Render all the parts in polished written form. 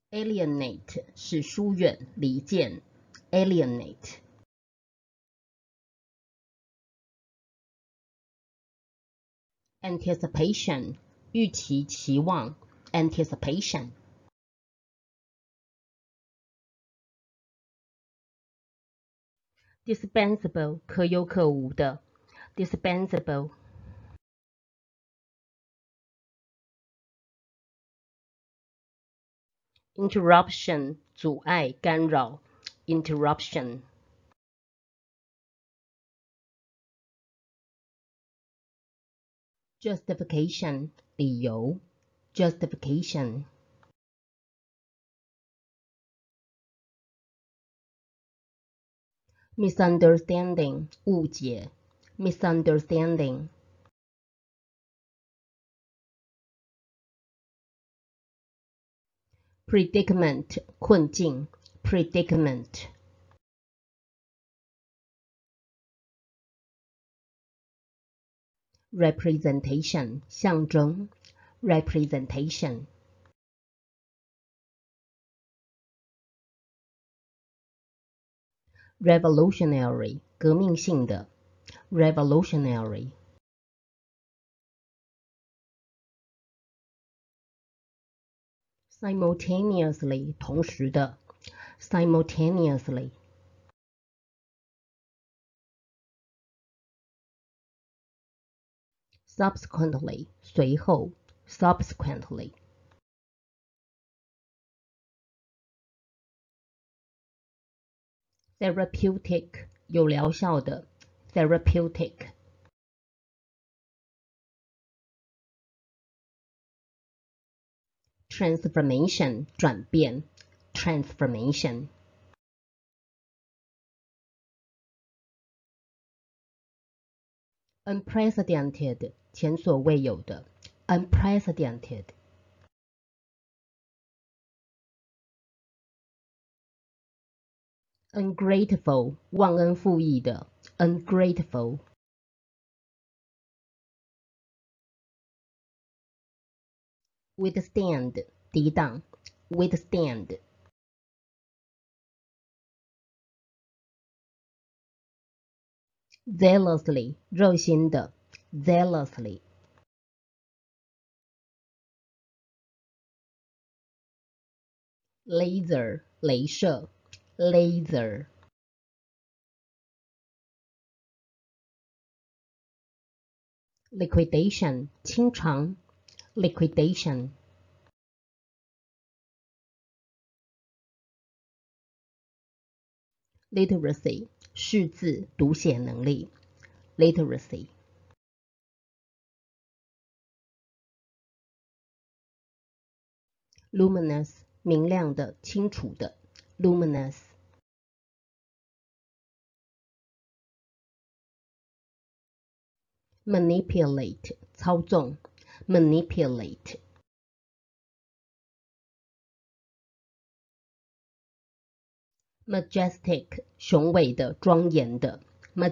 alienate 是疏远、离间 alienate。anticipation 预期、期望 anticipation。dispensable 可有可无的 dispensable。interruption 阻碍、干扰 interruption。justification 理由 justification。misunderstanding 误解 misunderstanding。predicament 困境 predicament。representation 象征 representation。revolutionary 革命性的 revolutionary。simultaneously 同时的 simultaneously。subsequently 随后 subsequently。therapeutic 有疗效的 therapeutic。transformation 转变 transformation。unprecedented 前所未有的 unprecedented。ungrateful 忘恩负义的 ungrateful。withstand 抵挡 withstand。zealously 热心的 zealously。laser 雷射 laser。liquidation 清偿 liquidation。literacy 识字读写能力 literacy。luminous 明亮的、清楚的 luminous。manipulate 操纵 manipulate。majestic 雄伟的、庄严的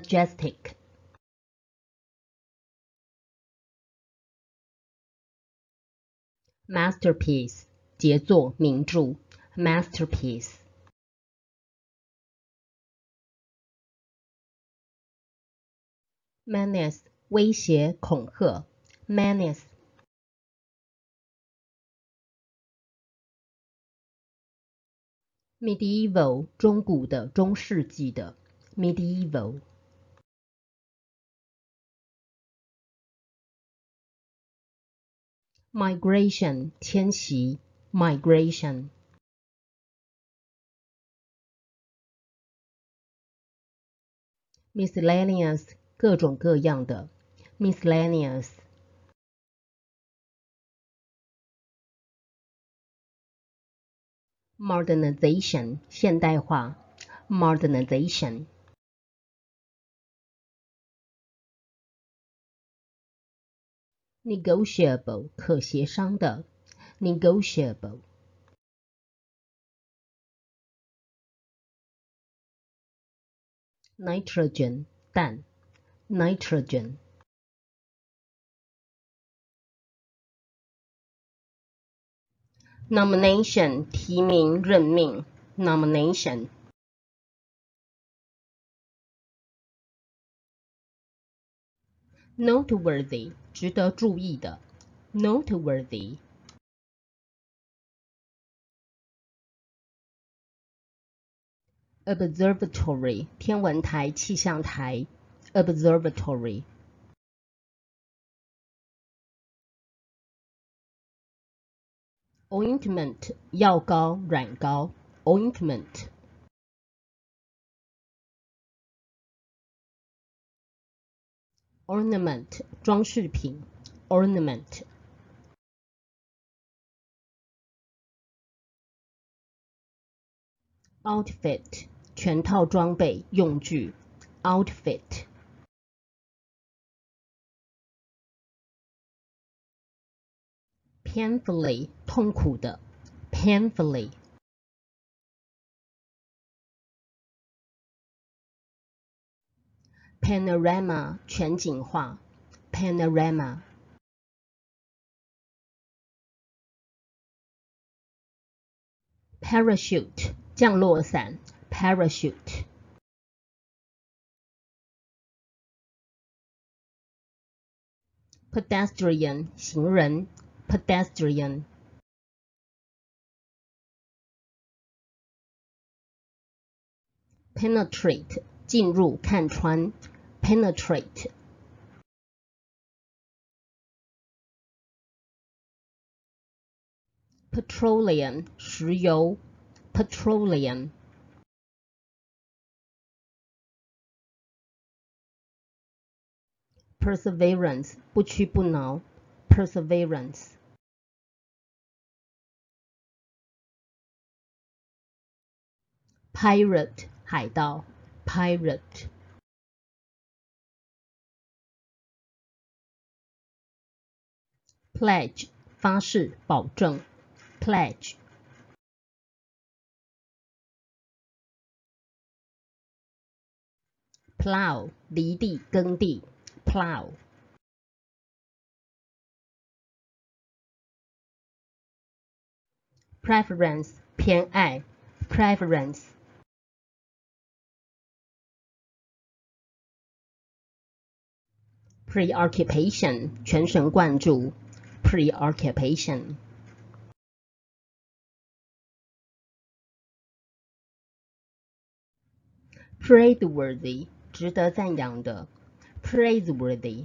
majestic。masterpiece 杰作、名著 masterpiece。menace 威胁、恐吓 menace。medieval 中古的、中世纪的 medieval。migration 迁徙 migration。miscellaneous 各种各样的 miscellaneous。modernization 现代化 modernization。negotiable 可协商的 negotiable。nitrogen 氮 nitrogen。 nomination 提名任命 nomination noteworthy 值得注意的 noteworthy observatory 天文台气象台 observatory ointment 药膏软膏 ointment ornament 装饰品 ornament outfit 全套装备用具 outfit painfully 痛苦的 painfully panorama 全景画 panorama parachute 降落伞 parachute pedestrian 行人 pedestrian penetrate 进入看穿 penetrate petroleum 石油 petroleum perseverance 不屈不挠 perseverance pirate 海盗 pirate pledge 发誓保证 pledge plow 犁地耕地 plow preference 偏爱 preference preoccupation 全神贯注 preoccupation praiseworthy 值得赞扬的 praiseworthy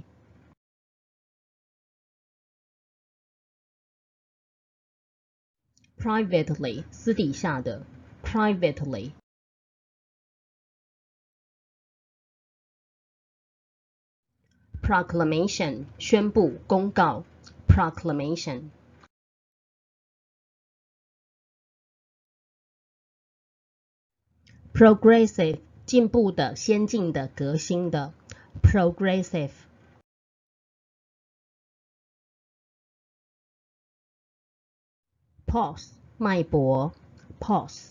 privately 私底下的 privately proclamation 宣布公告 proclamation progressive 进步的先进的革新的 progressive pause 脉搏 pause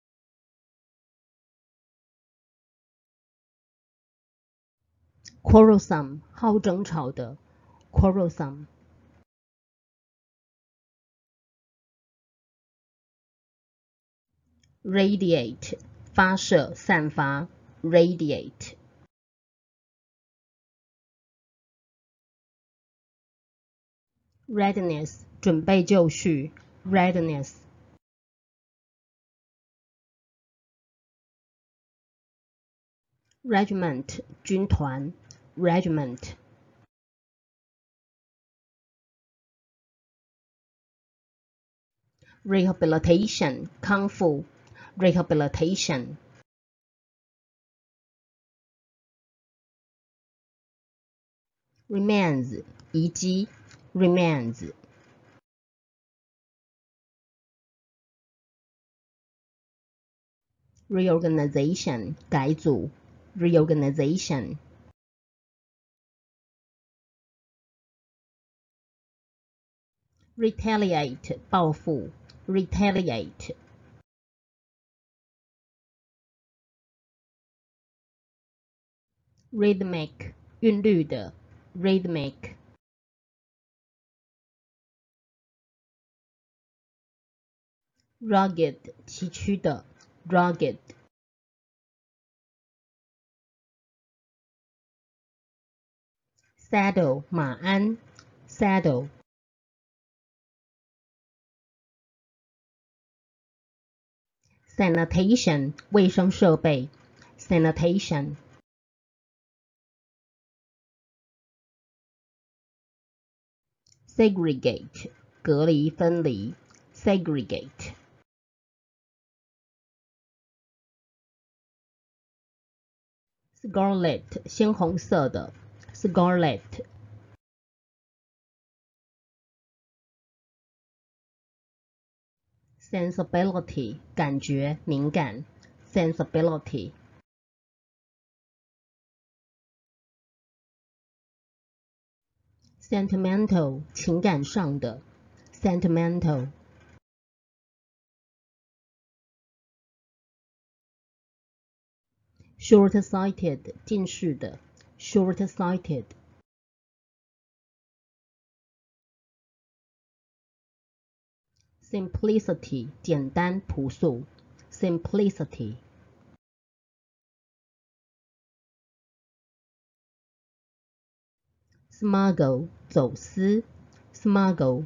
quarrelsome 好争吵的 quarrelsome radiate 发射散发 radiate readiness 准备就绪 readiness regiment 军团 regiment rehabilitation 康复 rehabilitation remains 遗迹 remains reorganization 改组 reorganization retaliate 报复 retaliate rhythmic 韵律的 rhythmic rugged 崎岖的 rugged saddle 马鞍 saddle sanitation 卫生设备 sanitation segregate 隔离分离 segregate scarlet 鲜红色的 scarlet sensibility 感觉敏感 sensibility sentimental 情感上的 sentimental short-sighted 近视的 short-sighted simplicity 简单朴素 simplicity smuggle 走私 smuggle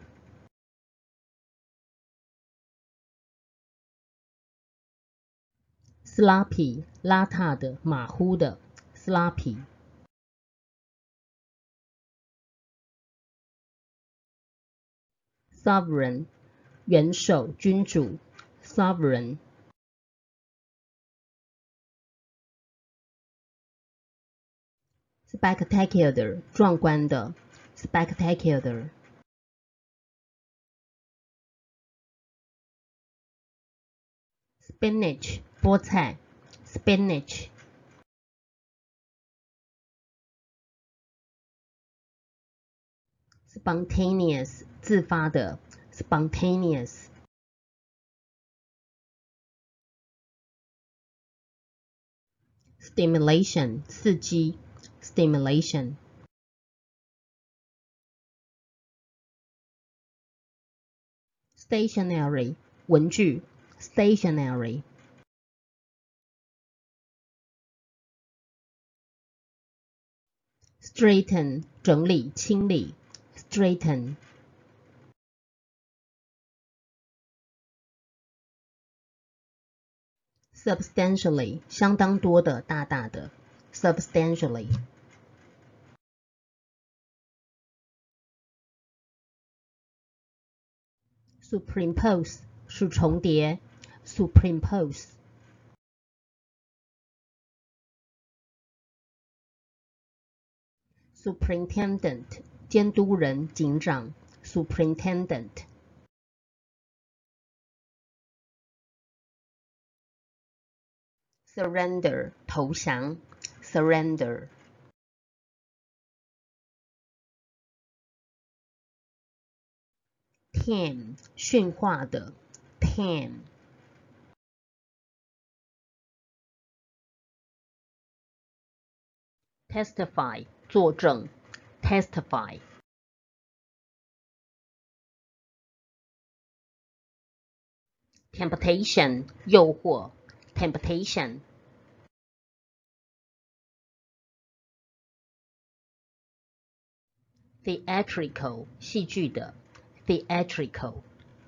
sloppy 邋遢的马虎的 sloppy sovereign 元首君主 sovereign spectacular 壮观的 spectacular spinach 菠菜 spinach spontaneous 自发的 spontaneous stimulation 刺激 stimulation stationary 文具 stationary straighten 整理清理 straighten substantially 相当多的大大的 substantially superimpose 是重叠 superimpose superintendent 监督人警长 superintendent surrender 投降 surrender tame 驯化的 tame testify 作证 testify temptation 诱惑 temptation theatrical 戏剧的 theatrical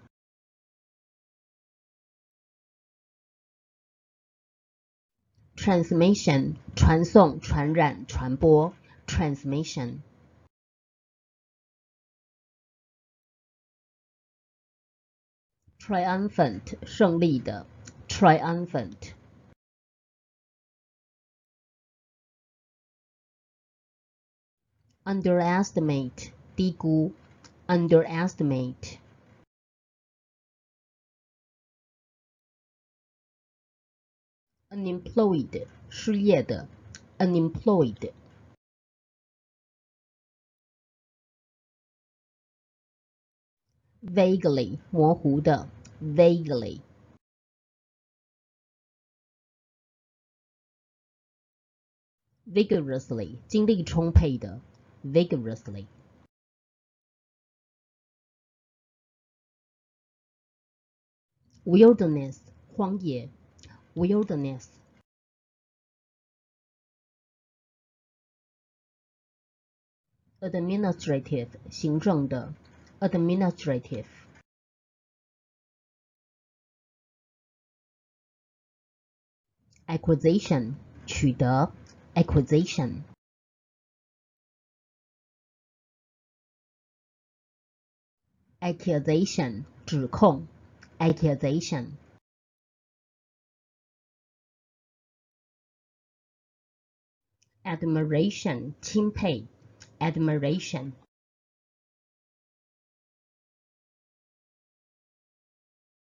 transmission 传送传染传播 transmission triumphant 胜利的 triumphant underestimate 低估 underestimate unemployed 失业的 unemployed vaguely 模糊的 vaguely vigorously 精力充沛的 vigorously wilderness 荒野 wilderness administrative 行政的 administrative acquisition 取得 acquisition accusation 指控 accusation admiration 钦佩 admiration